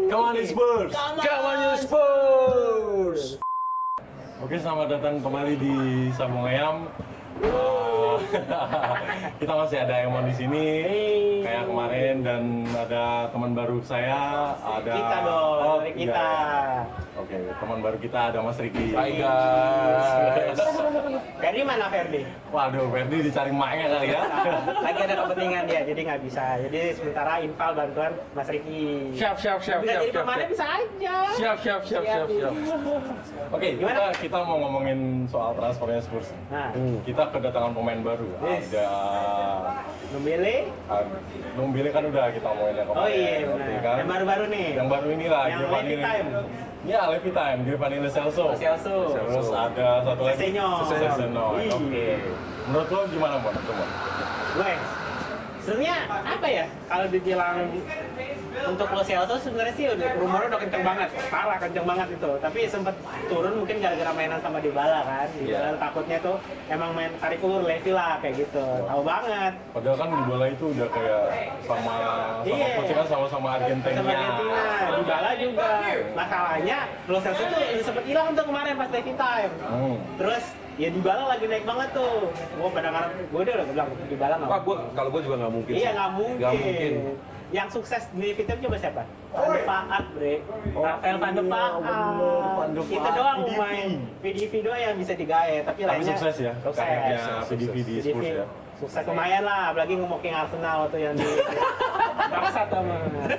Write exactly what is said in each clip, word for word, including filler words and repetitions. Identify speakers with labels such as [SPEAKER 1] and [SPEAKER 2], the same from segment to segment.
[SPEAKER 1] Come on Spurs!
[SPEAKER 2] Come on you Spurs!
[SPEAKER 1] Oke, selamat datang kembali di Sambung Ayam. Uh, kita masih ada Emon di sini,
[SPEAKER 3] hey.
[SPEAKER 1] kayak kemarin, dan ada teman baru saya, ada
[SPEAKER 3] kita dong,
[SPEAKER 1] oh,
[SPEAKER 3] dari kita.
[SPEAKER 1] Ya. Oke, teman baru kita ada Mas Riki.
[SPEAKER 2] Hai guys.
[SPEAKER 3] Ferdi mana Ferdi?
[SPEAKER 1] Waduh, Ferdi dicari maknya kali ya.
[SPEAKER 3] Lagi ada kepentingan dia, jadi nggak bisa. Jadi sementara infal bantuan Mas Riki.
[SPEAKER 2] Siap siap siap
[SPEAKER 3] Bisa
[SPEAKER 2] siap
[SPEAKER 3] jadi
[SPEAKER 2] siap.
[SPEAKER 3] pemainnya
[SPEAKER 2] siap.
[SPEAKER 3] bisa aja.
[SPEAKER 2] Siap siap siap siap siap.
[SPEAKER 1] Oke, kita,
[SPEAKER 3] Gimana?
[SPEAKER 1] kita mau ngomongin soal transfernya Spurs.
[SPEAKER 3] Nah,
[SPEAKER 2] Hmm.
[SPEAKER 1] Kita kedatangan pemain baru.
[SPEAKER 3] Yes.
[SPEAKER 1] Ada
[SPEAKER 3] Nombele.
[SPEAKER 1] Numbile kan udah kita ngomongin yang kemarin.
[SPEAKER 3] Oh iya,
[SPEAKER 1] nanti
[SPEAKER 3] benar.
[SPEAKER 1] kan.
[SPEAKER 3] Yang baru-baru nih.
[SPEAKER 1] Yang baru inilah.
[SPEAKER 3] Yang
[SPEAKER 1] Giovanni-
[SPEAKER 3] Levi Time.
[SPEAKER 1] Ya, Levi Time, Giovanni Lo Celso.
[SPEAKER 3] Lo Celso.
[SPEAKER 1] Terus ada satu lagi.
[SPEAKER 3] Sesenyo.
[SPEAKER 1] Sesenyo.
[SPEAKER 3] Ih.
[SPEAKER 1] Oke. Menurut lo gimana, Bon? Coba.
[SPEAKER 3] Gue sebenarnya apa ya? Kalau dibilang untuk Lo Celso sebenarnya sih udah rumornya udah kenceng banget, parah kenceng banget itu. Tapi sempet turun mungkin gara-gara mainan sama Dybala kan. Dybala
[SPEAKER 2] Iya.
[SPEAKER 3] takutnya tuh emang main tarik ulur Levi lah kayak gitu. Tahu banget.
[SPEAKER 1] Padahal kan Dybala itu udah kayak sama sama
[SPEAKER 3] Iya.
[SPEAKER 1] coach kan sama-sama Argentina.
[SPEAKER 3] Sama Argentina, Dybala juga. Masalahnya Lo Celso tuh sempet hilang tuh kemarin pas Levi Time.
[SPEAKER 1] Hmm.
[SPEAKER 3] Terus ya Dybala lagi naik banget tuh. Gue pada ngarep, gue udah bilang Dybala nggak.
[SPEAKER 2] Wah, gua kalau gua juga nggak mungkin.
[SPEAKER 3] Iya
[SPEAKER 2] sih.
[SPEAKER 3] nggak mungkin.
[SPEAKER 2] Nggak mungkin.
[SPEAKER 3] Yang sukses di Vietnam coba siapa? Van de Vaart, bre.
[SPEAKER 1] Oh,
[SPEAKER 3] Rafael Van de
[SPEAKER 1] iya,
[SPEAKER 3] Vaart.
[SPEAKER 1] bener, Van de
[SPEAKER 3] Itu
[SPEAKER 1] Vaart,
[SPEAKER 3] doang
[SPEAKER 1] V D V.
[SPEAKER 3] main V D V doang yang bisa digaya, tapi
[SPEAKER 1] Tapi
[SPEAKER 3] lainnya
[SPEAKER 1] sukses ya,
[SPEAKER 3] Sukses.
[SPEAKER 1] karirnya
[SPEAKER 2] Sukses.
[SPEAKER 1] V D V di
[SPEAKER 3] V D V
[SPEAKER 1] Spurs ya.
[SPEAKER 3] sukses lumayan lah, apalagi ngomoking Arsenal waktu yang di bangsat sama.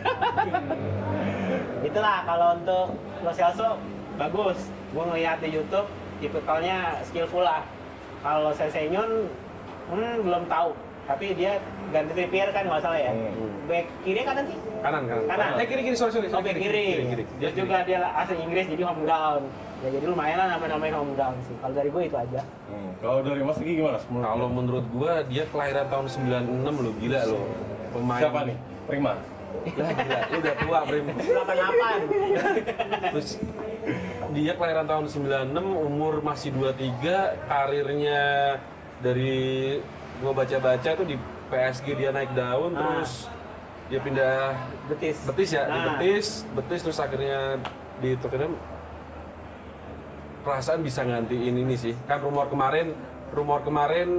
[SPEAKER 3] Itulah kalau untuk Lo Celso bagus. Gue ngeliat di YouTube tipikalnya skillful lah. Kalau Sesenyon hmm, belum tahu. Tapi dia ganti Trippier kan nggak salah ya.
[SPEAKER 1] Hmm.
[SPEAKER 3] Back kiri kanan sih?
[SPEAKER 2] Kanan kanan.
[SPEAKER 3] Kanan.
[SPEAKER 2] Eh kiri kiri sorry sorry.
[SPEAKER 3] Oh, back kiri.
[SPEAKER 2] kiri.
[SPEAKER 3] Terus juga dia asli Inggris jadi home ground. Ya jadi lumayan lah nama-namain home ground sih. Kalau dari gue itu aja.
[SPEAKER 1] Hmm. Kalau dari Mas Riki gimana? Menurut
[SPEAKER 2] Kalau
[SPEAKER 1] lo?
[SPEAKER 2] menurut gua dia kelahiran tahun sembilan puluh enam loh, gila loh. Pemain.
[SPEAKER 1] Siapa nih? Prima.
[SPEAKER 2] Lah gila, lu udah tua, Prim.
[SPEAKER 3] delapan delapan.
[SPEAKER 2] Terus dia kelahiran tahun sembilan puluh enam, umur masih dua puluh tiga, karirnya dari gua baca-baca tuh di P S G dia naik daun,
[SPEAKER 3] Ah.
[SPEAKER 2] terus dia pindah
[SPEAKER 3] Betis.
[SPEAKER 2] Betis ya, di
[SPEAKER 3] Ah.
[SPEAKER 2] Betis, Betis terus akhirnya di Tottenham. Perasaan bisa gantiin ini sih. Kan rumor kemarin, rumor kemarin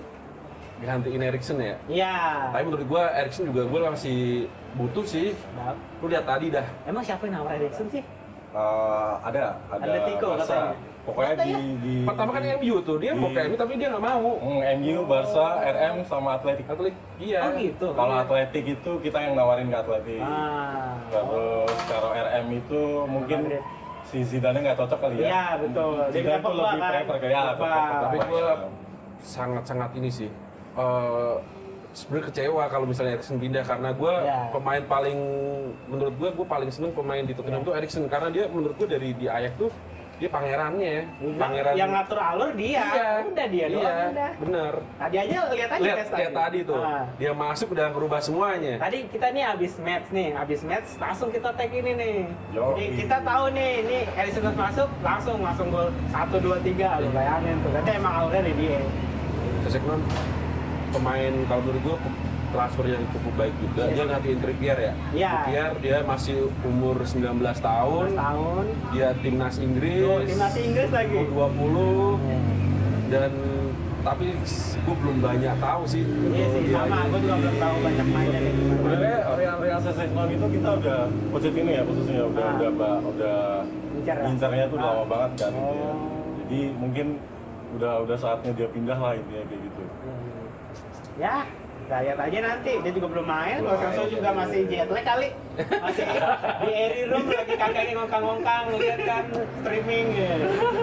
[SPEAKER 2] gantiin Eriksen ya.
[SPEAKER 3] Iya.
[SPEAKER 2] Tapi menurut gua Eriksen juga gua masih butuh sih.
[SPEAKER 3] Nah,
[SPEAKER 2] Lu lihat tadi dah.
[SPEAKER 3] emang siapa yang nawar Eriksen sih?
[SPEAKER 1] Uh, ada, ada
[SPEAKER 3] Atletico
[SPEAKER 1] Barca.
[SPEAKER 3] katanya.
[SPEAKER 1] Pokoknya
[SPEAKER 3] Katanya.
[SPEAKER 1] di, di
[SPEAKER 2] Pertama kan M U tuh, dia
[SPEAKER 1] di-
[SPEAKER 2] mau ke M U tapi dia nggak mau.
[SPEAKER 1] Hmm, M U, Barca, R M sama Atletik.
[SPEAKER 2] Atlet, iya.
[SPEAKER 3] Oh gitu.
[SPEAKER 1] Kalau Atletik itu kita yang nawarin ke Atletik.
[SPEAKER 3] Ah.
[SPEAKER 1] Terus kalau R M itu mungkin
[SPEAKER 3] Madrid.
[SPEAKER 1] si Zidane nggak cocok kali ya.
[SPEAKER 3] Iya, betul. Dia
[SPEAKER 1] Zidane
[SPEAKER 3] minta
[SPEAKER 1] tuh
[SPEAKER 3] Pogba
[SPEAKER 1] lebih
[SPEAKER 3] kan.
[SPEAKER 1] prefer ke ya.
[SPEAKER 3] Pogba.
[SPEAKER 2] Tapi gua sangat-sangat ini sih. eh sebenarnya kecewa kalau misalnya Eriksen pindah karena gue
[SPEAKER 3] Ya.
[SPEAKER 2] pemain paling menurut gue gue paling seneng pemain di Tottenham
[SPEAKER 3] Ya.
[SPEAKER 2] tuh Eriksen karena dia menurut gue dari di Ajax tuh dia pangerannya pangeran
[SPEAKER 3] yang ngatur alur dia.
[SPEAKER 2] iya,
[SPEAKER 3] Udah dia
[SPEAKER 2] iya,
[SPEAKER 3] doang udah.
[SPEAKER 2] bener
[SPEAKER 3] Tadi aja lihat aja
[SPEAKER 2] lihat
[SPEAKER 3] tes
[SPEAKER 2] lihat tadi tuh
[SPEAKER 3] Ah.
[SPEAKER 2] dia masuk udah ngerubah semuanya.
[SPEAKER 3] Tadi kita nih abis match nih, abis match langsung kita tag ini nih.
[SPEAKER 1] Yo.
[SPEAKER 3] Jadi kita tahu nih, ini Eriksen masuk langsung langsung gol satu dua tiga lo bayangin tuh. Berarti emang alurnya dari dia.
[SPEAKER 2] Seseknon pemain kalau menurut gue transfer yang cukup baik juga.
[SPEAKER 3] Iya.
[SPEAKER 2] Dia gantiin Trippier ya.
[SPEAKER 3] Iya.
[SPEAKER 2] Trippier dia masih umur sembilan belas tahun.
[SPEAKER 3] Tahun.
[SPEAKER 2] Dia timnas Inggris.
[SPEAKER 3] Tuh, timnas Inggris lagi.
[SPEAKER 2] umur dua puluh dan tapi gue belum banyak tahu sih.
[SPEAKER 3] Iya sih,
[SPEAKER 2] Dia
[SPEAKER 3] sama.
[SPEAKER 2] ini.
[SPEAKER 3] Gue juga belum tahu banyak mainnya nih.
[SPEAKER 1] Sebenarnya Real Real Sociedad itu kita udah Pochettino ya khususnya udah
[SPEAKER 3] Ah.
[SPEAKER 1] udah ba- udah
[SPEAKER 3] Incar ya?
[SPEAKER 1] incarnya tuh udah
[SPEAKER 3] Ah.
[SPEAKER 1] lama banget kan gitu ya.
[SPEAKER 3] Oh.
[SPEAKER 1] Jadi mungkin udah udah saatnya dia pindah lah intinya kayak gitu.
[SPEAKER 3] Ya, kita lihat aja nanti. Dia juga belum main.
[SPEAKER 1] Belum
[SPEAKER 3] Kalau Celso
[SPEAKER 1] main,
[SPEAKER 3] juga
[SPEAKER 1] ya.
[SPEAKER 3] masih jet lag kali. Masih di airy room lagi kakaknya ngongkang-ngongkang lihat kan streaming ya.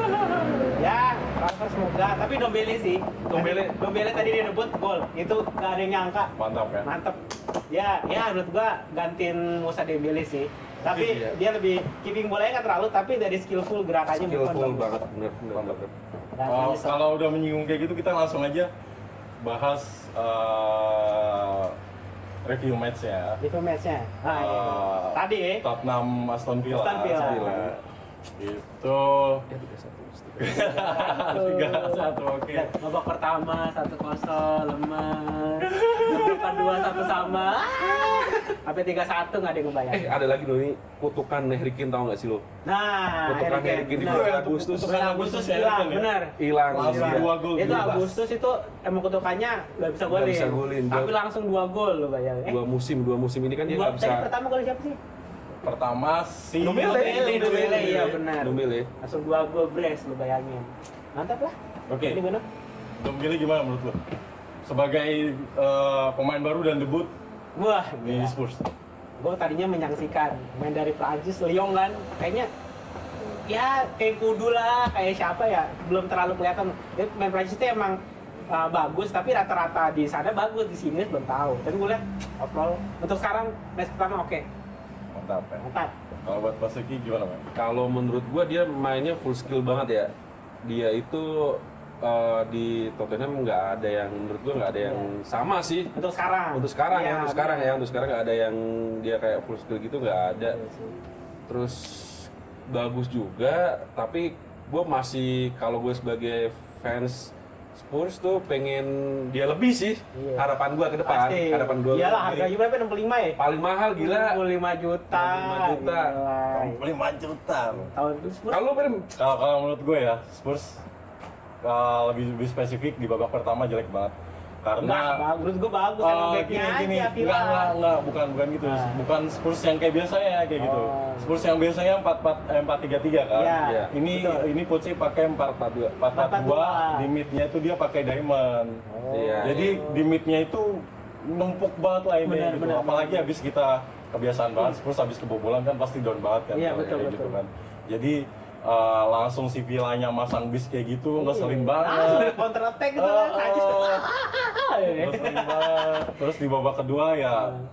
[SPEAKER 3] Ya, transfer semoga. Tapi Dombele sih.
[SPEAKER 2] Dombele.
[SPEAKER 3] Dombele tadi dia debut gol. Itu gak ada yang nyangka.
[SPEAKER 1] Mantap kan?
[SPEAKER 3] Mantep. Ya, ya menurut gua gantiin Musa Dembele sih. Tapi
[SPEAKER 2] Iya.
[SPEAKER 3] dia lebih keeping bolanya nggak terlalu, tapi dari skillful gerakannya bukan
[SPEAKER 2] skillful
[SPEAKER 3] bagus.
[SPEAKER 2] banget bener bener, bener.
[SPEAKER 3] Dan
[SPEAKER 1] Oh,
[SPEAKER 3] bisa-
[SPEAKER 1] kalau udah menyinggung kayak gitu kita langsung aja bahas eh, review match ya.
[SPEAKER 3] Review match-nya. Nah, iya.
[SPEAKER 1] Eh,
[SPEAKER 3] Tadi ya.
[SPEAKER 1] Tottenham Aston Villa.
[SPEAKER 3] Aston Villa.
[SPEAKER 1] Villa. Itu
[SPEAKER 2] Ya tiga satu.
[SPEAKER 1] tiga satu oke.
[SPEAKER 3] Dan babak pertama satu kosong lemes. Babak kedua satu sama. Sampai tiga satu nggak ada yang ngebayang.
[SPEAKER 2] Eh ada lagi loh ini kutukan Harry Kane tahu nggak sih lo?
[SPEAKER 3] Nah,
[SPEAKER 2] Kutukan Harry Kane di
[SPEAKER 3] benar.
[SPEAKER 2] bulan Agustus.
[SPEAKER 3] Bulan Agustus
[SPEAKER 1] Harry
[SPEAKER 3] hilang,
[SPEAKER 1] Kane ya?
[SPEAKER 3] benar.
[SPEAKER 2] Hilang.
[SPEAKER 1] Langsung
[SPEAKER 2] Iya.
[SPEAKER 1] dua gol.
[SPEAKER 3] Itu
[SPEAKER 1] bebas.
[SPEAKER 3] Agustus itu emang kutukannya nggak bisa
[SPEAKER 2] Nggak
[SPEAKER 3] golin.
[SPEAKER 2] bisa golin.
[SPEAKER 3] Tapi langsung dua gol lo bayangin. Eh,
[SPEAKER 2] Dua musim, dua musim ini kan dia
[SPEAKER 3] dua,
[SPEAKER 2] nggak bisa.
[SPEAKER 3] tadi pertama gol siapa sih?
[SPEAKER 1] Pertama si
[SPEAKER 2] Nubele.
[SPEAKER 3] Nubele, Nubele, iya benar.
[SPEAKER 2] Nubele.
[SPEAKER 3] Langsung dua gol brace lo bayangin. Mantap lah.
[SPEAKER 1] Oke.
[SPEAKER 3] Ini benar.
[SPEAKER 1] Dombele gimana menurut lo? Sebagai eh, pemain baru dan debut
[SPEAKER 3] Wah,
[SPEAKER 1] di
[SPEAKER 3] gila.
[SPEAKER 1] Spurs.
[SPEAKER 3] Gue tadinya menyaksikan main dari Prancis, Lyon kan, kayaknya ya kayak kudu lah, kayak siapa ya, belum terlalu kelihatan. Dia main Prancis itu emang uh, bagus, tapi rata-rata di sana bagus, di sini belum tahu. Tapi gue lihat overall untuk sekarang match pertama oke,
[SPEAKER 1] Mantap ya.
[SPEAKER 3] mantap.
[SPEAKER 1] Kalau buat Basuki gimana, Bang?
[SPEAKER 2] Kalau menurut gua dia mainnya full skill banget ya. Dia itu eh, di Tottenham nggak ada yang menurut gua nggak ada yang sama sih.
[SPEAKER 3] Untuk sekarang.
[SPEAKER 2] Untuk sekarang ya,
[SPEAKER 3] Iya,
[SPEAKER 2] untuk sekarang
[SPEAKER 3] benar.
[SPEAKER 2] ya, untuk sekarang nggak ada yang dia kayak full skill gitu nggak ada.
[SPEAKER 3] Iya sih.
[SPEAKER 2] Terus bagus juga, tapi gue masih kalau gue sebagai fans Spurs tuh pengen dia lebih sih.
[SPEAKER 3] Iya.
[SPEAKER 2] Harapan gue ke depan,
[SPEAKER 3] Pasti.
[SPEAKER 2] harapan gue.
[SPEAKER 3] Iyalah, harganya berapa? enam puluh lima ya?
[SPEAKER 2] Paling mahal gila.
[SPEAKER 3] enam puluh lima juta.
[SPEAKER 2] enam puluh lima juta.
[SPEAKER 3] Gila.
[SPEAKER 1] lima juta.
[SPEAKER 3] Tahun itu Spurs.
[SPEAKER 2] Kalau Brim,
[SPEAKER 1] Kalau kalau menurut gue ya Spurs uh, lebih lebih spesifik di babak pertama jelek banget. Karena
[SPEAKER 3] Enggak, menurut gue bagus,
[SPEAKER 1] Oh,
[SPEAKER 3] emang
[SPEAKER 1] gini,
[SPEAKER 3] backnya
[SPEAKER 1] gini.
[SPEAKER 3] aja,
[SPEAKER 1] Enggak,
[SPEAKER 3] Villa.
[SPEAKER 1] enggak, enggak, bukan, bukan gitu.
[SPEAKER 3] Ah.
[SPEAKER 1] Bukan Spurs yang kayak biasanya kayak gitu.
[SPEAKER 3] Oh.
[SPEAKER 1] Spurs yang biasanya empat empat eh, empat tiga tiga kan.
[SPEAKER 3] Iya,
[SPEAKER 2] Iya.
[SPEAKER 1] Ini
[SPEAKER 3] betul.
[SPEAKER 1] ini coachnya pakai empat empat dua. empat empat dua, di midnya itu dia pakai diamond.
[SPEAKER 3] Oh.
[SPEAKER 2] Iya.
[SPEAKER 1] Jadi di midnya itu numpuk banget lah ini
[SPEAKER 3] Benar,
[SPEAKER 1] gitu.
[SPEAKER 3] benar,
[SPEAKER 1] Apalagi
[SPEAKER 3] benar.
[SPEAKER 1] habis kita kebiasaan banget Spurs habis kebobolan kan pasti down banget kan.
[SPEAKER 3] Iya,
[SPEAKER 1] kalau
[SPEAKER 3] betul,
[SPEAKER 1] kayak
[SPEAKER 3] betul.
[SPEAKER 1] gitu kan. Jadi uh, langsung si Villanya masang bis kayak gitu ngeselin
[SPEAKER 3] Langsung
[SPEAKER 1] banget.
[SPEAKER 3] counter attack gitu kan.
[SPEAKER 1] Oh,
[SPEAKER 3] Najis.
[SPEAKER 1] oh.
[SPEAKER 3] Ah,
[SPEAKER 1] Ngeselin banget. Terus di babak kedua ya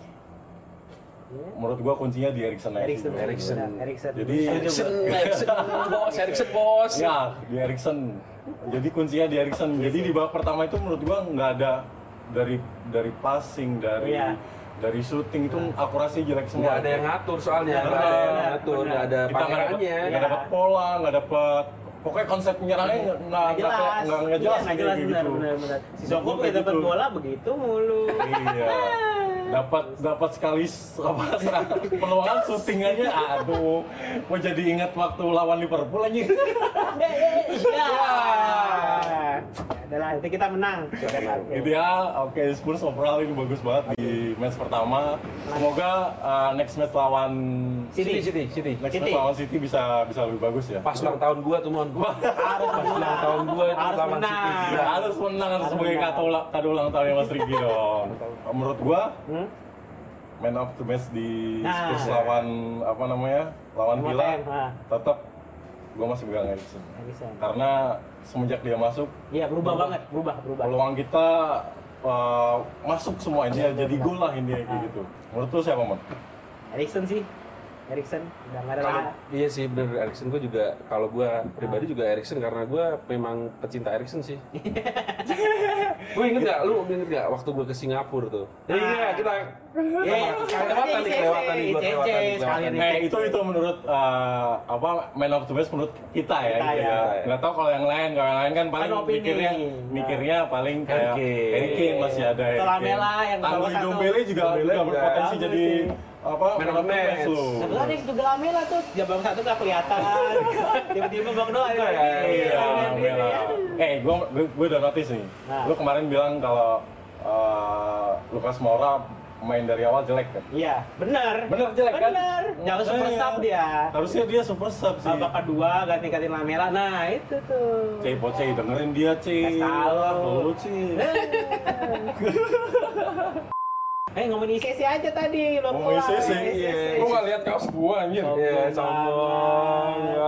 [SPEAKER 1] menurut gua kuncinya di Eriksen aja sih,
[SPEAKER 3] Eriksen,
[SPEAKER 1] bro.
[SPEAKER 2] Eriksen.
[SPEAKER 3] benar, Eriksen.
[SPEAKER 1] Jadi-
[SPEAKER 2] Eriksen, Eriksen bos, Eriksen bos.
[SPEAKER 1] Ya, di Eriksen. Jadi kuncinya di Eriksen. Jadi di babak pertama itu menurut gua nggak ada dari dari passing, dari
[SPEAKER 3] Iya.
[SPEAKER 1] dari shooting itu akurasi jelek semua.
[SPEAKER 2] Nggak ada yang ngatur soalnya,
[SPEAKER 3] Benar,
[SPEAKER 2] nggak ada yang
[SPEAKER 3] benar,
[SPEAKER 2] ngatur,
[SPEAKER 3] benar.
[SPEAKER 2] nggak ada
[SPEAKER 1] kita nggak dapat
[SPEAKER 2] pangerannya.
[SPEAKER 1] nggak dapat pola, nggak dapat pokoknya konsep penyerangnya nggak nggak
[SPEAKER 3] Nggak jelas.
[SPEAKER 1] nggak nggak jelas,
[SPEAKER 3] Iya, nggak jelas
[SPEAKER 1] kayak
[SPEAKER 3] benar,
[SPEAKER 1] gitu.
[SPEAKER 3] benar, benar. Si Soko
[SPEAKER 1] Kayak
[SPEAKER 3] udah dapat
[SPEAKER 1] gitu.
[SPEAKER 3] bola begitu mulu.
[SPEAKER 1] Iya. Dapat dapat sekali s- apa serang- peluangan syuting aja, aduh, mau jadi ingat waktu lawan Liverpool aja.
[SPEAKER 3] Iya. Adalah nanti kita menang.
[SPEAKER 1] Gitu ya, oke Spurs overall ini bagus banget di match pertama. Semoga uh, next match lawan
[SPEAKER 3] City.
[SPEAKER 2] City, City.
[SPEAKER 1] next
[SPEAKER 3] City.
[SPEAKER 1] match lawan City bisa bisa lebih bagus ya.
[SPEAKER 2] Pas ulang tahun gua tuh mon.
[SPEAKER 3] Harus
[SPEAKER 2] Pas ulang tahun gua itu
[SPEAKER 3] Harus
[SPEAKER 2] lawan
[SPEAKER 3] menang.
[SPEAKER 2] City.
[SPEAKER 1] Ya, harus menang harus sebagai
[SPEAKER 3] menang.
[SPEAKER 1] kado, ula- kado ulang tahunnya Mas Riki dong. Menurut gua
[SPEAKER 3] Hmm?
[SPEAKER 1] man of the match di
[SPEAKER 3] Nah.
[SPEAKER 1] Spurs lawan apa namanya lawan
[SPEAKER 3] Sama
[SPEAKER 1] Villa
[SPEAKER 3] T M, ah.
[SPEAKER 1] tetap gua masih pegang Eriksen
[SPEAKER 3] Eriksen.
[SPEAKER 1] karena semenjak dia masuk
[SPEAKER 3] Iya, berubah banget, berubah, berubah.
[SPEAKER 1] peluang kita uh, masuk semua ini
[SPEAKER 3] Iya,
[SPEAKER 1] jadi
[SPEAKER 3] benar.
[SPEAKER 1] gol lah ini kayak
[SPEAKER 3] Ah.
[SPEAKER 1] gitu. Menurut lu siapa, Mon?
[SPEAKER 3] Eriksen sih. Eriksen udah nggak ada
[SPEAKER 2] Kalau
[SPEAKER 3] lah.
[SPEAKER 2] iya sih bener Eriksen gua juga kalau gua pribadi juga Eriksen karena gua memang pecinta Eriksen sih. Gue inget gak, lu inget gak waktu gue ke Singapura tuh?
[SPEAKER 3] Ah.
[SPEAKER 2] Iya kita
[SPEAKER 3] Iya,
[SPEAKER 2] kelewatan nih, kelewatan nih, gue
[SPEAKER 3] I C C,
[SPEAKER 2] kelewatan nih,
[SPEAKER 3] sekalian
[SPEAKER 2] kelewatan.
[SPEAKER 1] Eh itu itu menurut uh, apa man of the match menurut kita ya,
[SPEAKER 3] Kita
[SPEAKER 1] gitu
[SPEAKER 3] ya.
[SPEAKER 1] ya. Nggak tahu kalau yang lain, kalau yang lain kan paling
[SPEAKER 3] Kan opini.
[SPEAKER 1] mikirnya mikirnya paling kayak
[SPEAKER 2] Harry Kane.
[SPEAKER 1] Harry Kane masih ada ya.
[SPEAKER 3] Atau Lamela yang
[SPEAKER 1] Tanggul
[SPEAKER 3] salah satu.
[SPEAKER 1] Dombele juga
[SPEAKER 2] Dombele
[SPEAKER 1] juga
[SPEAKER 2] juga
[SPEAKER 1] berpotensi
[SPEAKER 3] bagus
[SPEAKER 1] jadi
[SPEAKER 3] sih.
[SPEAKER 1] apa
[SPEAKER 2] Man of the match.
[SPEAKER 1] loh.
[SPEAKER 3] Sebelah ada juga Lamela tuh, jabang satu nggak kelihatan. Tiba-tiba bang doa ada lagi.
[SPEAKER 1] Iya, Lamela. Eh, gua gua, gua udah notice nih.
[SPEAKER 3] Nah.
[SPEAKER 1] Lu kemarin bilang kalau uh, Lucas Moura main dari awal jelek kan?
[SPEAKER 3] Iya, benar.
[SPEAKER 1] Bener jelek kan?
[SPEAKER 3] Benar. Jangan super
[SPEAKER 1] Makanya.
[SPEAKER 3] sub dia.
[SPEAKER 1] Harusnya dia super sub sih.
[SPEAKER 3] Babak kedua ganti-gantiin Lamela. Nah, itu tuh.
[SPEAKER 1] Cey, Pocey, dengerin dia, Cey.
[SPEAKER 3] Kasih tahu.
[SPEAKER 1] Lu, Cey.
[SPEAKER 3] Eh ngomongin I C C aja tadi, lo
[SPEAKER 1] Ngomongin I C C,
[SPEAKER 2] iya.
[SPEAKER 1] Lu nggak lihat kaos gua, anjir.
[SPEAKER 2] Iya, sombong. Ya.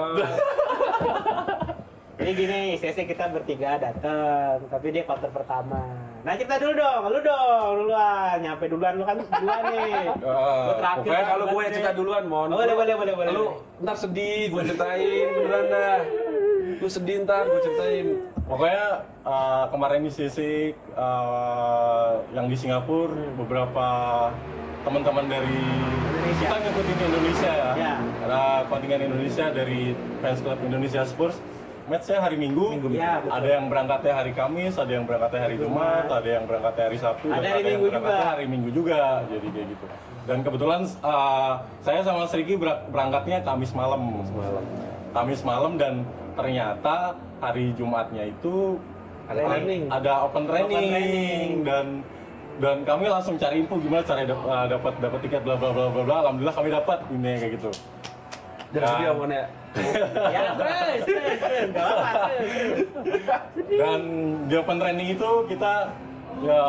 [SPEAKER 3] Jadi gini, I C C kita bertiga dateng, tapi dia quarter pertama. Nah cerita dulu dong, lu dong, duluan, nyampe duluan, lu kan duluan nih.
[SPEAKER 1] Ah,
[SPEAKER 3] Lu terakhir.
[SPEAKER 1] pokoknya
[SPEAKER 2] Kalau gue yang cerita duluan, Mon.
[SPEAKER 3] Oh, boleh, boleh, boleh, boleh.
[SPEAKER 2] Lu ntar sedih, gue ceritain beneran dah. Lu sedih ntar, gue ceritain.
[SPEAKER 1] Pokoknya uh, kemarin di C C uh, yang di Singapura beberapa teman-teman dari
[SPEAKER 3] Indonesia.
[SPEAKER 1] kita ngikutin Indonesia ya.
[SPEAKER 3] Ya.
[SPEAKER 1] Ada kontingen Indonesia dari fans club Indonesia Spurs. Match-nya hari Minggu,
[SPEAKER 3] Minggu, ya, betul.
[SPEAKER 1] ada yang berangkatnya hari Kamis, ada yang berangkatnya hari Jumat, ada yang berangkatnya hari Sabtu,
[SPEAKER 3] Ada
[SPEAKER 1] dan
[SPEAKER 3] hari
[SPEAKER 1] ada yang
[SPEAKER 3] Minggu
[SPEAKER 1] berangkatnya
[SPEAKER 3] juga.
[SPEAKER 1] hari Minggu juga, jadi kayak gitu. Dan kebetulan uh, saya sama Sriki ber- berangkatnya Kamis malam, Kamis malam dan ternyata hari Jumatnya itu
[SPEAKER 2] Ada training.
[SPEAKER 1] ada open training,
[SPEAKER 3] Open training.
[SPEAKER 1] dan dan kami langsung cari info gimana cara dap- uh, dapat dapat tiket bla bla bla bla bla. Alhamdulillah kami dapat ini kayak gitu.
[SPEAKER 2] Jangan sedih
[SPEAKER 1] Dan-
[SPEAKER 2] omongan ya.
[SPEAKER 3] Ya terus, terus, terus, gak apa-apa, terus.
[SPEAKER 1] Dan di open training itu kita ya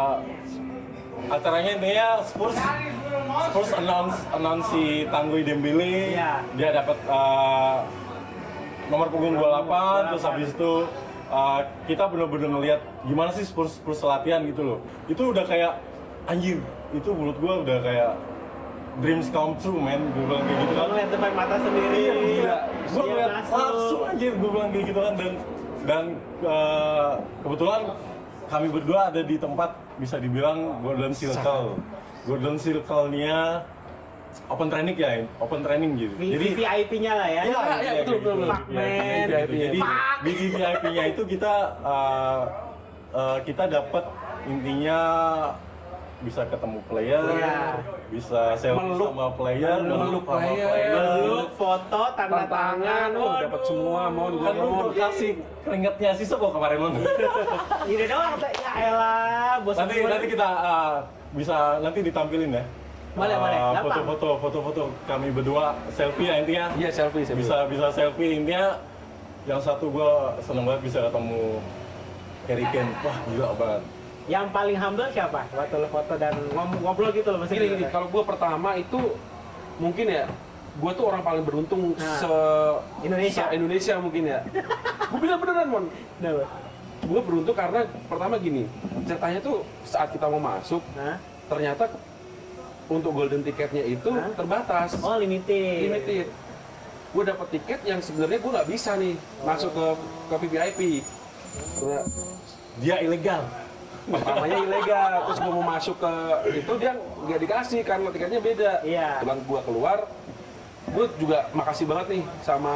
[SPEAKER 1] acaranya intinya Spurs Spurs announce announce si Tanguy Dembele,
[SPEAKER 3] Iya.
[SPEAKER 1] dia dapat uh, nomor punggung dua puluh delapan, terus habis itu uh, kita benar-benar ngelihat gimana sih Spurs Spurs latihan gitu loh. Itu udah kayak anjir, itu menurut gua udah kayak dreams come true, man. Gue bilang kayak gitu kan.
[SPEAKER 3] Kamu lihat depan mata sendiri.
[SPEAKER 1] Iya, gila. Gue
[SPEAKER 3] Iya,
[SPEAKER 1] ngeliat
[SPEAKER 3] masuk.
[SPEAKER 1] langsung anjir, gue bilang kayak gitu kan. Dan dan uh, kebetulan kami berdua ada di tempat bisa dibilang Golden Circle. Golden Circle-nya open training ya, open training gitu.
[SPEAKER 3] V-
[SPEAKER 1] Jadi
[SPEAKER 3] V I P-nya lah ya.
[SPEAKER 2] Iya, iya, betul, betul, betul.
[SPEAKER 3] Fuck, man.
[SPEAKER 1] V I P. Jadi
[SPEAKER 3] Fuck.
[SPEAKER 1] di V I P-nya itu kita uh, uh, kita dapat intinya bisa ketemu player,
[SPEAKER 3] Iya.
[SPEAKER 1] bisa selfie
[SPEAKER 2] Meluk.
[SPEAKER 1] sama player,
[SPEAKER 2] Meluk
[SPEAKER 1] sama
[SPEAKER 2] player.
[SPEAKER 3] Meluk, foto, tanda tangan,
[SPEAKER 2] oh, dapat semua, mau
[SPEAKER 1] Kan lu
[SPEAKER 2] mau.
[SPEAKER 1] udah kasih keringetnya sisa kok kemarin lu.
[SPEAKER 3] Ini doang, ya elah, bos
[SPEAKER 1] nanti
[SPEAKER 3] gue.
[SPEAKER 1] nanti kita uh, bisa nanti ditampilin ya.
[SPEAKER 3] Boleh,
[SPEAKER 1] Uh,
[SPEAKER 3] boleh. Gampang.
[SPEAKER 1] Foto-foto, foto-foto kami berdua selfie ya intinya.
[SPEAKER 2] Iya, selfie, selfie.
[SPEAKER 1] Bisa bisa selfie intinya. Yang satu gua seneng banget bisa ketemu Harry Kane. Wah gila banget.
[SPEAKER 3] Yang paling humble siapa? Waktu lo foto dan ngom- ngobrol gitu loh maksudnya.
[SPEAKER 2] Gini, gini, kalau gue pertama itu mungkin ya, gue tuh orang paling beruntung
[SPEAKER 3] Nah.
[SPEAKER 2] se
[SPEAKER 3] Indonesia.
[SPEAKER 2] se Indonesia mungkin ya. Gue bilang beneran, Mon.
[SPEAKER 3] Kenapa?
[SPEAKER 2] Gue beruntung karena pertama gini, ceritanya tuh saat kita mau masuk,
[SPEAKER 3] Hah?
[SPEAKER 2] ternyata untuk golden tiketnya itu
[SPEAKER 3] Hah?
[SPEAKER 2] terbatas,
[SPEAKER 3] Oh, limited.
[SPEAKER 2] limited. Gue dapet tiket yang sebenarnya gue nggak bisa nih masuk ke ke V V I P. Nah,
[SPEAKER 1] Dia ilegal.
[SPEAKER 2] pertamanya ilegal, terus gue mau masuk ke itu dia nggak dikasih karena tiketnya beda.
[SPEAKER 3] Iya.
[SPEAKER 2] Kebetulan gue keluar, gue juga makasih banget nih sama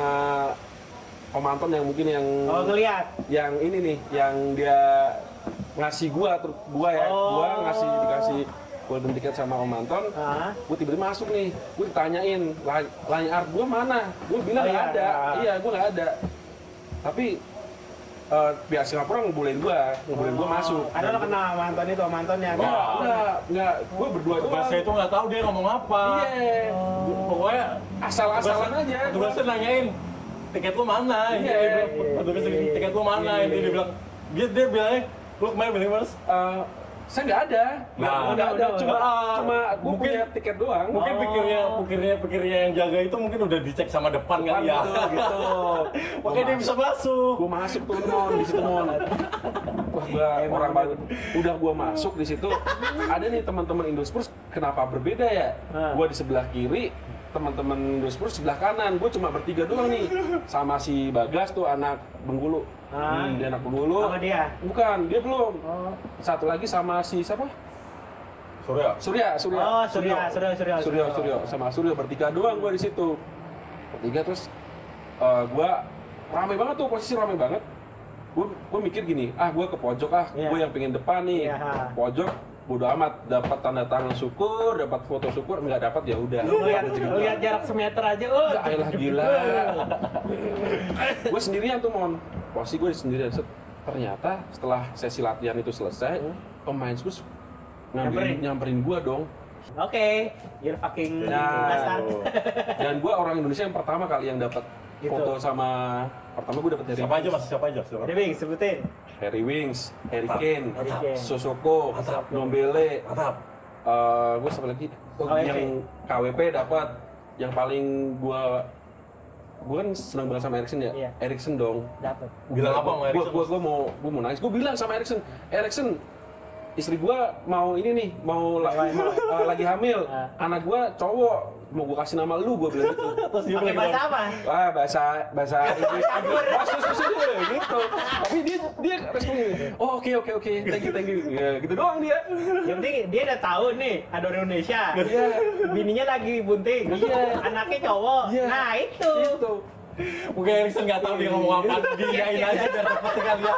[SPEAKER 2] Om Anton yang mungkin yang
[SPEAKER 3] Oh, ngeliat.
[SPEAKER 2] yang ini nih, yang dia ngasih gua, terus gua ya,
[SPEAKER 3] Oh.
[SPEAKER 2] gua ngasih dikasih golden ticket sama Om Anton.
[SPEAKER 3] Hah?
[SPEAKER 2] Gue tiba-tiba masuk nih, gue ditanyain line line art gue mana, gue bilang
[SPEAKER 3] Oh,
[SPEAKER 2] nggak
[SPEAKER 3] iya,
[SPEAKER 2] ada,
[SPEAKER 3] ada.
[SPEAKER 2] iya gue nggak ada. Tapi eh, pihak Singapura ngebolehin gue, ngebolehin gue masuk.
[SPEAKER 3] Ada lo kenal sama Anton itu, sama Anton yang
[SPEAKER 2] Enggak, enggak, enggak, gue berdua doang.
[SPEAKER 1] Tugasnya itu nggak tahu dia ngomong apa.
[SPEAKER 2] Iya,
[SPEAKER 1] Pokoknya
[SPEAKER 2] asal-asalan
[SPEAKER 1] tugasnya-
[SPEAKER 2] aja.
[SPEAKER 1] Tugasnya nanyain tiket lu mana?
[SPEAKER 2] Iya,
[SPEAKER 1] Dia bilang,
[SPEAKER 2] iya,
[SPEAKER 1] tugasnya
[SPEAKER 2] iya,
[SPEAKER 1] tiket lu mana?
[SPEAKER 2] iya,
[SPEAKER 1] Ini
[SPEAKER 2] iya.
[SPEAKER 1] dia bilang dia dia bilangnya lu kemarin beli mas?
[SPEAKER 2] Eh, saya nggak ada,
[SPEAKER 1] Nah,
[SPEAKER 2] nggak
[SPEAKER 3] udah,
[SPEAKER 2] ada,
[SPEAKER 3] udah,
[SPEAKER 2] cuma
[SPEAKER 1] udah.
[SPEAKER 2] cuma gue
[SPEAKER 1] Mungkin-
[SPEAKER 2] punya tiket doang.
[SPEAKER 1] Mungkin
[SPEAKER 3] Oh.
[SPEAKER 1] pikirnya pikirnya pikirnya yang jaga itu mungkin udah dicek sama depan
[SPEAKER 2] Depan
[SPEAKER 1] kali ya.
[SPEAKER 2] gitu, gitu.
[SPEAKER 1] Makanya dia bisa masuk.
[SPEAKER 2] Gue masuk tuh mon di situ mon. Wah gua orang baru. Udah gue masuk di situ. Ada nih teman-teman Indospurs. Kenapa berbeda ya?
[SPEAKER 3] Ah.
[SPEAKER 2] Gue di sebelah kiri, teman-teman Indospurs sebelah kanan. Gue cuma bertiga doang nih. Sama si Bagas tuh anak Bengkulu.
[SPEAKER 3] Ah.
[SPEAKER 2] Hmm, dia anak Bengkulu.
[SPEAKER 3] Sama dia?
[SPEAKER 2] Bukan, dia belum.
[SPEAKER 3] Oh.
[SPEAKER 2] Satu lagi sama si siapa?
[SPEAKER 1] Surya.
[SPEAKER 2] Surya, Surya.
[SPEAKER 3] Oh, Surya, Surya, Surya,
[SPEAKER 2] Surya,
[SPEAKER 3] Surya.
[SPEAKER 2] Surya. Sama Surya bertiga doang gue di situ. Bertiga terus eh, gue rame banget tuh, posisi rame banget. Gue gue mikir gini, ah gue ke pojok ah,
[SPEAKER 3] Iya.
[SPEAKER 2] gue yang pengen depan nih.
[SPEAKER 3] Iya.
[SPEAKER 2] Pojok bodo amat, dapat tanda tangan syukur, dapat foto syukur, nggak dapat ya udah.
[SPEAKER 3] Lu lihat, lu lihat jarak semeter aja, oh.
[SPEAKER 2] Ya elah gila. Gue sendirian tuh mon, posisi gue sendirian. Set. Ternyata setelah sesi latihan itu selesai, pemain Spurs
[SPEAKER 3] Nyamperin.
[SPEAKER 2] nyamperin, nyamperin gue dong.
[SPEAKER 3] Oke, you're fucking
[SPEAKER 2] Nah.
[SPEAKER 3] bastard.
[SPEAKER 2] Dan gue orang Indonesia yang pertama kali yang dapat
[SPEAKER 3] Gitu.
[SPEAKER 2] foto sama pertama gue dapat dari
[SPEAKER 1] Siapa aja mas? Siapa aja? Siapa?
[SPEAKER 3] Jadi Bing, sebutin.
[SPEAKER 2] Harry Wings, Harry
[SPEAKER 1] Mantap.
[SPEAKER 2] Kane,
[SPEAKER 3] Harry Kane.
[SPEAKER 2] Sosoko,
[SPEAKER 1] Mantap.
[SPEAKER 2] Nombele,
[SPEAKER 1] Mantap.
[SPEAKER 2] eh gue siapa lagi? Oh,
[SPEAKER 3] K W P.
[SPEAKER 2] yang K W P dapat. Yang paling gue gue kan senang banget sama Erikson ya.
[SPEAKER 3] Iya.
[SPEAKER 2] Erikson dong.
[SPEAKER 3] Dapat.
[SPEAKER 1] Bilang apa sama Erikson?
[SPEAKER 2] Gue gue mau gue mau nangis. Gue bilang sama Erikson, Erikson istri gue mau ini nih, mau, la- mau, eh, lagi hamil.
[SPEAKER 3] Ah.
[SPEAKER 2] Anak gue cowok, mau gue kasih nama lu, gue bilang gitu.
[SPEAKER 1] Terus dia
[SPEAKER 3] Pakai
[SPEAKER 1] bilang,
[SPEAKER 3] bahasa apa?
[SPEAKER 2] Wah, bahasa bahasa Inggris bahasa susah dia gitu. Tapi dia dia responnya, oh oke oke oke, thank you thank you. Ya, gitu doang dia.
[SPEAKER 3] Yang penting dia udah tahu nih ada orang Indonesia.
[SPEAKER 2] Iya.
[SPEAKER 3] Bininya lagi bunting.
[SPEAKER 2] Iya.
[SPEAKER 3] Anaknya cowok.
[SPEAKER 2] Iya.
[SPEAKER 3] Nah itu.
[SPEAKER 2] Gitu.
[SPEAKER 1] mungkin Erikson nggak tahu dia ngomong apa, diiyain aja biar cepet sekali ya.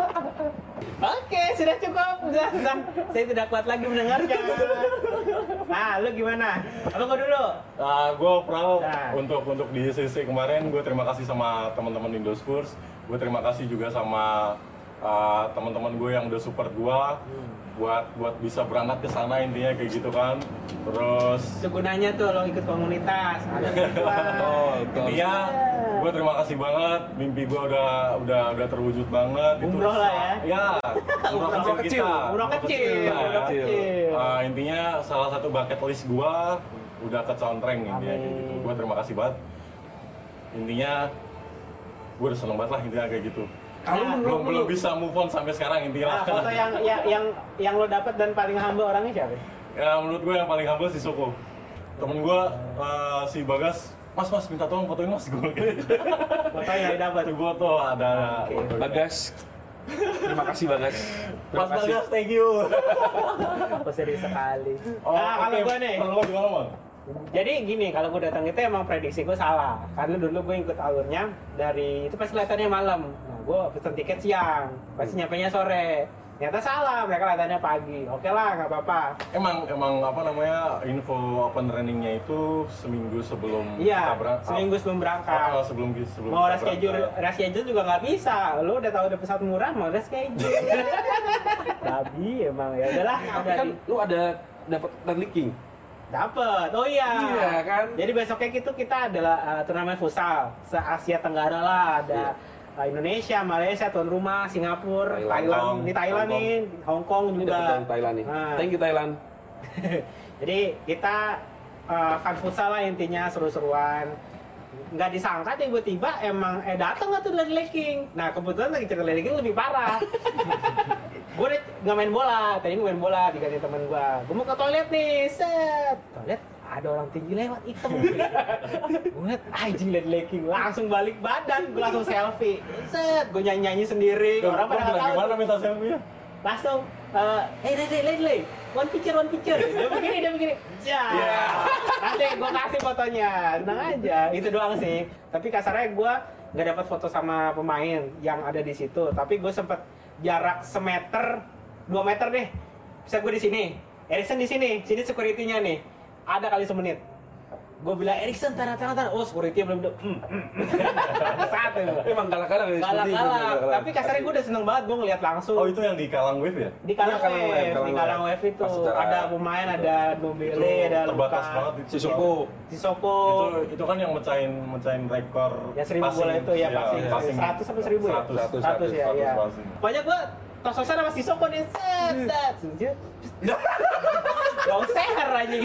[SPEAKER 3] Oke, sudah cukup. Sudah, sudah. Saya tidak kuat lagi mendengarnya. Nah, lu gimana? Apa gua dulu?
[SPEAKER 1] Nah, gue proud
[SPEAKER 3] Nah.
[SPEAKER 1] untuk untuk di sesi kemarin. Gue terima kasih sama teman-teman Indospurs. Gue terima kasih juga sama uh, teman-teman gue yang udah support gue buat buat bisa berangkat ke sana, intinya kayak gitu kan. Terus
[SPEAKER 3] Itu gunanya tuh lo ikut komunitas. Ada tujuan.
[SPEAKER 2] Oh, betul.
[SPEAKER 1] intinya gue terima kasih banget. Mimpi gue udah udah udah terwujud banget.
[SPEAKER 3] Umroh lah ya.
[SPEAKER 1] Ya, umroh kecil
[SPEAKER 2] kecil.
[SPEAKER 1] kita.
[SPEAKER 3] Umroh kecil,
[SPEAKER 1] Nah,
[SPEAKER 3] umroh kecil.
[SPEAKER 1] Uh, intinya salah satu bucket list gue udah kecontreng intinya kayak
[SPEAKER 3] Amin.
[SPEAKER 1] gitu. Gue terima kasih banget. Intinya gue udah seneng banget lah intinya kayak gitu.
[SPEAKER 2] Kalau
[SPEAKER 3] Nah,
[SPEAKER 2] menurut
[SPEAKER 1] Belum
[SPEAKER 2] lu,
[SPEAKER 1] belum bisa move on sampai sekarang intinya.
[SPEAKER 3] Nah, foto yang yang yang yang lo dapat dan paling humble orangnya siapa?
[SPEAKER 1] Ya menurut gue yang paling humble si Soko. Temen gue uh, si Bagas, Mas Mas minta tolong fotoin Mas gue.
[SPEAKER 3] Foto yang dapat.
[SPEAKER 1] Gue tuh ada.
[SPEAKER 3] Oke.
[SPEAKER 2] Bagas. Terima kasih Bagas. Terima
[SPEAKER 1] Mas
[SPEAKER 2] kasih.
[SPEAKER 1] Bagas, thank you.
[SPEAKER 3] Aku serius sekali.
[SPEAKER 1] Oh,
[SPEAKER 3] Nah, kalau
[SPEAKER 1] oke.
[SPEAKER 3] gue nih,
[SPEAKER 1] Kalau lo gimana, Bang?
[SPEAKER 3] jadi gini, kalau gue datang itu emang prediksi gue salah. Karena dulu gue ikut alurnya dari, itu pas kelihatannya malam. Nah, gue pesen tiket siang, pasti nyampenya sore. Ternyata salah, mereka kelihatannya pagi. Oke lah, nggak apa-apa.
[SPEAKER 1] Emang emang apa namanya info open trainingnya itu seminggu sebelum
[SPEAKER 3] Iya,
[SPEAKER 1] kita berangkat.
[SPEAKER 3] seminggu sebelum berangkat.
[SPEAKER 1] Oh, sebelum sebelum
[SPEAKER 3] Mau
[SPEAKER 1] kita
[SPEAKER 3] reschedule,
[SPEAKER 1] berangkat.
[SPEAKER 3] reschedule juga nggak bisa. Lo udah tahu ada pesawat murah, mau reschedule. Babi emang, ya udahlah.
[SPEAKER 2] Tapi
[SPEAKER 3] udah
[SPEAKER 2] kan
[SPEAKER 3] di-
[SPEAKER 2] lu ada dapat leaking.
[SPEAKER 3] Dapet, oh iya.
[SPEAKER 2] Iya, kan?
[SPEAKER 3] Jadi besoknya itu kita adalah uh, turnamen futsal se Asia Tenggara lah, ada uh, Indonesia, Malaysia, tuan rumah, Singapura,
[SPEAKER 2] Thailand,
[SPEAKER 3] Thailand,
[SPEAKER 1] Hong-
[SPEAKER 3] di Thailand
[SPEAKER 1] Hong
[SPEAKER 3] nih, Hong Kong
[SPEAKER 2] Ini
[SPEAKER 3] juga.
[SPEAKER 2] dapat dari Thailand nih.
[SPEAKER 3] Nah.
[SPEAKER 2] Thank you Thailand.
[SPEAKER 3] Jadi kita uh, fun futsal lah intinya, seru-seruan. Nggak disangka tiba-tiba emang eh datang nggak tuh dari legging. Nah kebetulan lagi cerita legging lebih parah. Gue udah nggak main bola, tadi gue main bola diganti teman gue. Gue mau ke toilet nih, set. Toilet ada orang tinggi lewat hitam. Gue liat anjing liat legging, langsung balik badan, gue langsung selfie. Set, gue nyanyi-nyanyi sendiri.
[SPEAKER 1] Orang
[SPEAKER 3] Orang pada nggak tahu.
[SPEAKER 1] gimana minta selfie-nya?
[SPEAKER 3] Langsung, eh, hey Lele, Lele, one picture, one picture. Dia begini, dia begini. Ya. Nanti gue kasih fotonya, tenang aja. Itu doang sih. Tapi kasarnya gue nggak dapat foto sama pemain yang ada di situ. Tapi gue sempet jarak semeter, dua meter deh. Bisa gue di sini, Erikson di sini, sini security-nya nih. Ada kali semenit. Gue bilang Erikson, taruh taruh taruh. Oh, security belum belum. Hmm, hmm, hmm. Saat itu.
[SPEAKER 2] Emang galak-galak ya, seperti itu,
[SPEAKER 3] Galak-galak.
[SPEAKER 2] galak-galak.
[SPEAKER 3] Tapi kasarnya gue udah seneng banget gue ngeliat langsung.
[SPEAKER 1] Oh itu yang di Kalang Wave ya?
[SPEAKER 3] Di Kalang
[SPEAKER 2] Iya, Kalang
[SPEAKER 3] Wave,
[SPEAKER 2] Wave, Kalang
[SPEAKER 3] di Kalang
[SPEAKER 2] Wave.
[SPEAKER 3] Wave itu
[SPEAKER 2] Pas secara-
[SPEAKER 3] ada pemain, ada Nobile, ada
[SPEAKER 1] terbatas
[SPEAKER 3] Luka,
[SPEAKER 1] banget itu.
[SPEAKER 2] Sisoko.
[SPEAKER 3] Sisoko,
[SPEAKER 1] Itu itu kan yang mecahin mecahin rekor.
[SPEAKER 3] ya seribu bola itu ya pasti, seratus sampai seribu ya,
[SPEAKER 1] seratus,
[SPEAKER 3] seratus ya, ya.
[SPEAKER 1] passing.
[SPEAKER 3] Pokoknya gua tos-tosan sama Sisoko nih, set, set, sujud, gak seher aja.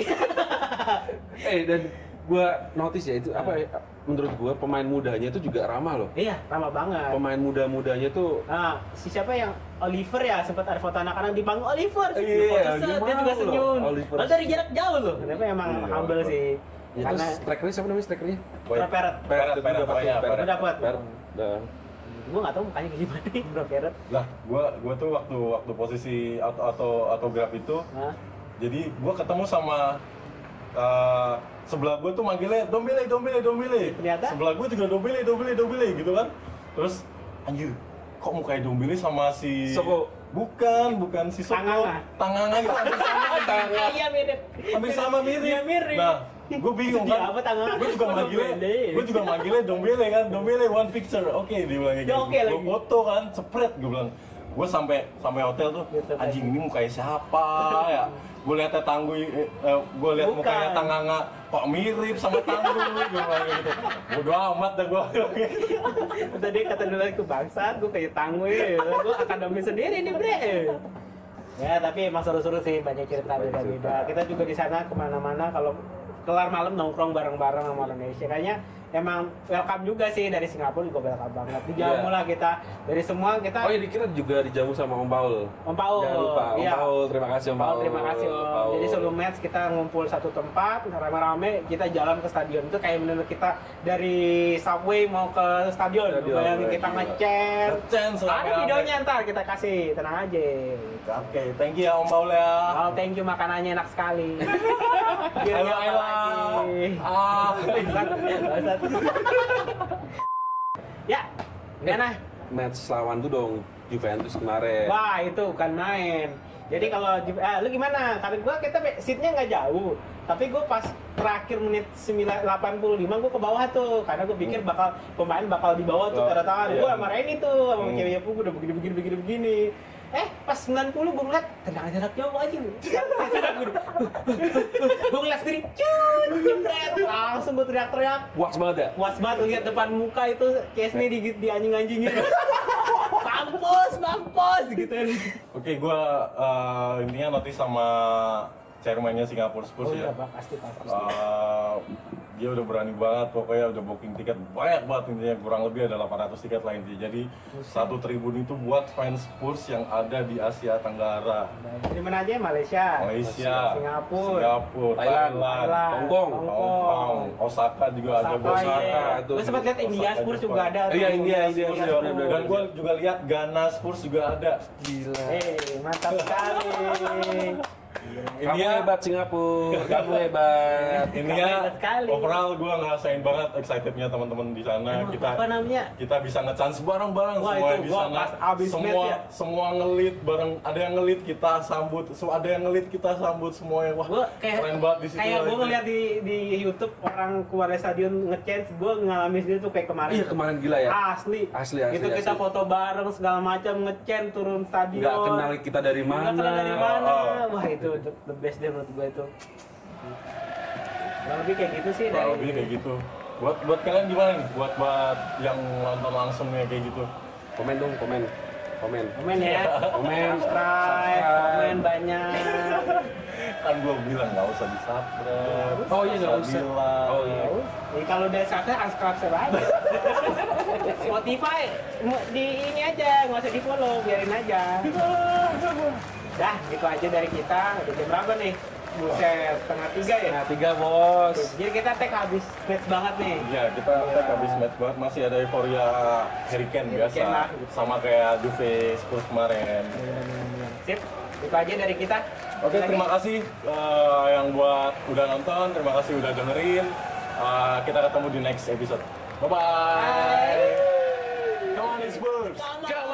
[SPEAKER 2] Eh dan gua notice ya itu apa ya, menurut gua pemain mudanya itu juga ramah loh.
[SPEAKER 3] Iya, ramah banget.
[SPEAKER 2] Pemain muda-mudanya tuh
[SPEAKER 3] Nah, si siapa yang Oliver ya, sempat ada foto anak-anak di panggung Oliver.
[SPEAKER 2] Iya,
[SPEAKER 3] Di foto
[SPEAKER 2] dia
[SPEAKER 3] set, dia
[SPEAKER 2] mau
[SPEAKER 3] juga
[SPEAKER 2] loh,
[SPEAKER 3] senyum.
[SPEAKER 2] Oliver.
[SPEAKER 3] Lalu dari jarak jauh loh. Kenapa emang
[SPEAKER 1] Iya,
[SPEAKER 3] humble
[SPEAKER 1] Oliver.
[SPEAKER 3] sih.
[SPEAKER 2] ya
[SPEAKER 3] Karena
[SPEAKER 2] terus strikernya siapa namanya strikernya?
[SPEAKER 3] Bro Peret.
[SPEAKER 1] Peret,
[SPEAKER 2] itu
[SPEAKER 1] Peret,
[SPEAKER 2] dapat
[SPEAKER 1] oh iya,
[SPEAKER 2] tuh,
[SPEAKER 1] Peret.
[SPEAKER 3] Lu dapat.
[SPEAKER 2] Peret. Dah.
[SPEAKER 3] Gue nggak tahu mukanya kayak gimana nih Bro Peret.
[SPEAKER 1] Lah, gua gua tuh waktu waktu posisi auto auto autograf itu,
[SPEAKER 3] Hah?
[SPEAKER 1] jadi gua ketemu sama uh, sebelah gua tuh manggilnya Dombele, Dombele, Dombele.
[SPEAKER 3] Ternyata?
[SPEAKER 1] Sebelah gua juga Dombele, Dombele, Dombele gitu kan. Terus anjir, kok mukanya Dombele sama si
[SPEAKER 2] Soko.
[SPEAKER 1] Bukan, bukan si Soko.
[SPEAKER 3] Tanganga.
[SPEAKER 1] Tanganga itu hampir sama.
[SPEAKER 3] Tangga. Iya mirip.
[SPEAKER 1] Hampir sama mirip.
[SPEAKER 3] Iya mirip.
[SPEAKER 1] Nah, gue bingung
[SPEAKER 3] Sedih
[SPEAKER 1] kan.
[SPEAKER 3] apa Tanganga?
[SPEAKER 1] Gue juga
[SPEAKER 3] Oh,
[SPEAKER 1] manggilnya,
[SPEAKER 3] Dombele.
[SPEAKER 1] gue juga manggilnya Dombele kan. Dombele one picture. Oke, dia bilang kayak
[SPEAKER 3] Ya,
[SPEAKER 1] gitu.
[SPEAKER 3] oke
[SPEAKER 1] Gue
[SPEAKER 3] lagi.
[SPEAKER 1] foto kan, cepret gue bilang. Gue sampai sampai hotel tuh,
[SPEAKER 3] Gitu,
[SPEAKER 1] anjing ini mukanya siapa ya? Gue liatnya Tangguy, eh, gue liat
[SPEAKER 3] Bukan.
[SPEAKER 1] mukanya Tanganga, kok mirip sama Tangguy, gue bilang kayak gitu. Bodoh amat dah gue.
[SPEAKER 3] Tadi kata dulu ke bangsat, gue kayak tangwe, gue akademi sendiri nih bre. Ya tapi emang seru-seru sih, banyak cerita beda-beda. Kita juga di sana kemana-mana kalau kelar malam nongkrong bareng-bareng sama Indonesia. Kayaknya emang welcome juga sih dari Singapura juga welcome banget. Dijamu
[SPEAKER 2] Iya.
[SPEAKER 3] lah kita dari semua kita.
[SPEAKER 2] Oh iya, dikira juga dijamu sama Om Paul.
[SPEAKER 3] Om Paul.
[SPEAKER 2] Jangan lupa, Om
[SPEAKER 3] Iya.
[SPEAKER 2] Paul, terima kasih Om
[SPEAKER 3] Paul,
[SPEAKER 2] Paul.
[SPEAKER 3] terima kasih Om.
[SPEAKER 2] Paul.
[SPEAKER 3] Jadi sebelum match kita ngumpul satu tempat, rame-rame kita jalan ke stadion itu kayak bener kita dari subway mau ke stadion.
[SPEAKER 2] Stadion,
[SPEAKER 3] Bayangin kita
[SPEAKER 2] gila.
[SPEAKER 3] ngechat.
[SPEAKER 1] Ngechat
[SPEAKER 3] Ada
[SPEAKER 1] rame-rame.
[SPEAKER 3] videonya ntar kita kasih, tenang aja.
[SPEAKER 1] Oke, thank you ya Om Paul ya.
[SPEAKER 3] Oh, thank you, makanannya enak sekali. Biar
[SPEAKER 1] Ayo,
[SPEAKER 3] nyapa
[SPEAKER 1] ayo.
[SPEAKER 3] lagi.
[SPEAKER 1] Ah.
[SPEAKER 3] Bangsat, bangsat. Ya, gimana?
[SPEAKER 2] Match lawan tuh dong Juventus kemarin.
[SPEAKER 3] Wah, itu bukan main. Jadi kalau Ju- eh, lu gimana? Kata gua kita be- seatnya nggak jauh, tapi gua pas terakhir menit sembilan delapan puluh lima gua ke bawah tuh, karena gua pikir bakal pemain bakal di bawah tuh
[SPEAKER 2] Oh,
[SPEAKER 3] tanda tangan.
[SPEAKER 2] iya.
[SPEAKER 3] Gua marahin itu sama
[SPEAKER 1] Hmm.
[SPEAKER 3] ceweknya gua udah begini begini begini begini. Eh, pas sembilan puluh gua ngeliat tendangan jarak jauh aja. Gua ngeliat sendiri, cut, jebret. Langsung gua teriak-teriak.
[SPEAKER 2] Puas banget ya?
[SPEAKER 3] Puas banget lihat depan muka itu Kesni di, di anjing-anjingin. Mampus, mampus gitu.
[SPEAKER 1] Oke, gue uh, intinya notice sama chairman-nya Singapore Spurs
[SPEAKER 3] Oh iya,
[SPEAKER 1] ya.
[SPEAKER 3] Pak, pasti pasti.
[SPEAKER 1] Uh, dia udah berani banget, pokoknya udah booking tiket banyak banget intinya, kurang lebih ada delapan ratus tiket lah intinya. Jadi satu tribun itu buat fans Spurs yang ada di Asia Tenggara.
[SPEAKER 3] Dari mana aja? Malaysia,
[SPEAKER 1] Malaysia,
[SPEAKER 3] Singapura,
[SPEAKER 1] Singapura,
[SPEAKER 2] Thailand,
[SPEAKER 1] Thailand,
[SPEAKER 3] Thailand,
[SPEAKER 2] Hongkong,
[SPEAKER 1] Hong Kong, Osaka juga ada.
[SPEAKER 3] Osaka,
[SPEAKER 1] Osaka.
[SPEAKER 3] iya.
[SPEAKER 2] tuh.
[SPEAKER 3] Gue sempat lihat India
[SPEAKER 1] Osaka
[SPEAKER 3] Spurs
[SPEAKER 1] Jepang.
[SPEAKER 3] juga ada. tuh.
[SPEAKER 2] Iya, India, India,
[SPEAKER 1] Spurs
[SPEAKER 2] India,
[SPEAKER 1] juga.
[SPEAKER 2] benar, benar,
[SPEAKER 1] Dan gue
[SPEAKER 2] benar.
[SPEAKER 1] juga lihat Ghana Spurs juga ada.
[SPEAKER 2] Gila.
[SPEAKER 3] Eh, mantap sekali.
[SPEAKER 2] Kamu
[SPEAKER 1] India
[SPEAKER 2] hebat Singapura, kamu hebat.
[SPEAKER 1] Intinya
[SPEAKER 3] Hebat sekali.
[SPEAKER 1] overall gue ngerasain banget excitednya teman-teman di sana.
[SPEAKER 3] Emang
[SPEAKER 1] Kita
[SPEAKER 3] apa namanya?
[SPEAKER 1] kita bisa nge-chance bareng-bareng
[SPEAKER 3] Wah,
[SPEAKER 1] semua
[SPEAKER 3] itu
[SPEAKER 1] di
[SPEAKER 3] gua
[SPEAKER 1] sana.
[SPEAKER 3] pas abis
[SPEAKER 1] semua
[SPEAKER 3] match ya.
[SPEAKER 1] semua ngelit bareng, ada yang ngelit kita sambut, so, ada yang ngelit kita sambut semuanya. Wah,
[SPEAKER 3] Gue kayak
[SPEAKER 1] keren banget di situ.
[SPEAKER 3] kayak gue
[SPEAKER 1] itu.
[SPEAKER 3] ngeliat di di YouTube orang keluar dari stadion ngechance, gue ngalamin sendiri tuh kayak kemarin.
[SPEAKER 2] Iya, kemarin gila ya.
[SPEAKER 3] Asli.
[SPEAKER 2] Asli, asli,
[SPEAKER 3] Itu kita
[SPEAKER 2] asli.
[SPEAKER 3] foto bareng segala macam ngechance turun stadion.
[SPEAKER 2] Nggak kenal kita dari mana.
[SPEAKER 3] Nggak kenal dari mana.
[SPEAKER 1] Oh, oh.
[SPEAKER 3] Wah, itu the best deh menurut gue itu. Kurang lebih kayak gitu sih
[SPEAKER 1] Kurang
[SPEAKER 3] dari
[SPEAKER 1] lebih kayak gitu. Buat buat kalian gimana nih? Buat buat yang nonton langsung ya kayak gitu.
[SPEAKER 2] Komen dong, komen. Komen.
[SPEAKER 3] komen ya.
[SPEAKER 2] Komen,
[SPEAKER 3] Subscribe, komen banyak.
[SPEAKER 1] Kan gua bilang nggak usah di subscribe.
[SPEAKER 2] Oh iya, nggak usah.
[SPEAKER 1] bilang.
[SPEAKER 2] Oh iya.
[SPEAKER 3] Jadi kalau udah subscribe, unsubscribe aja. Spotify mu- di ini aja, nggak usah di follow, biarin aja. Dah, gitu aja dari kita. Udah jam berapa nih? Buset, setengah tiga ya?
[SPEAKER 2] Nah, tiga bos.
[SPEAKER 3] Jadi kita tag habis match banget nih.
[SPEAKER 1] Iya, kita tag habis match banget, masih ada euforia Harry Kane
[SPEAKER 3] Harry
[SPEAKER 1] biasa.
[SPEAKER 3] Kane lah.
[SPEAKER 1] Sama kayak Juve Spurs kemarin.
[SPEAKER 3] Sip, itu aja dari kita.
[SPEAKER 1] Oke,
[SPEAKER 3] Lagi.
[SPEAKER 1] terima kasih eh, yang buat udah nonton, terima kasih udah dengerin. Eh, kita ketemu di next episode. Bye bye.
[SPEAKER 3] Bye.
[SPEAKER 1] Come on, Spurs.
[SPEAKER 3] Come on.